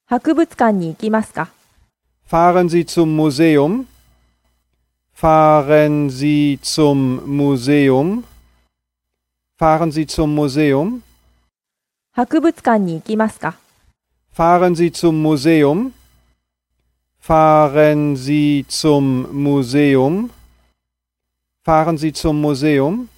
博物館に行きますか？ Fahren Sie zum Museum? Fahren Sie zum Museum? Fahren Sie zum Museum? 博物館に行きますか？ Fahren Sie zum Museum? Fahren Sie zum Museum? Fahren Sie zum Museum?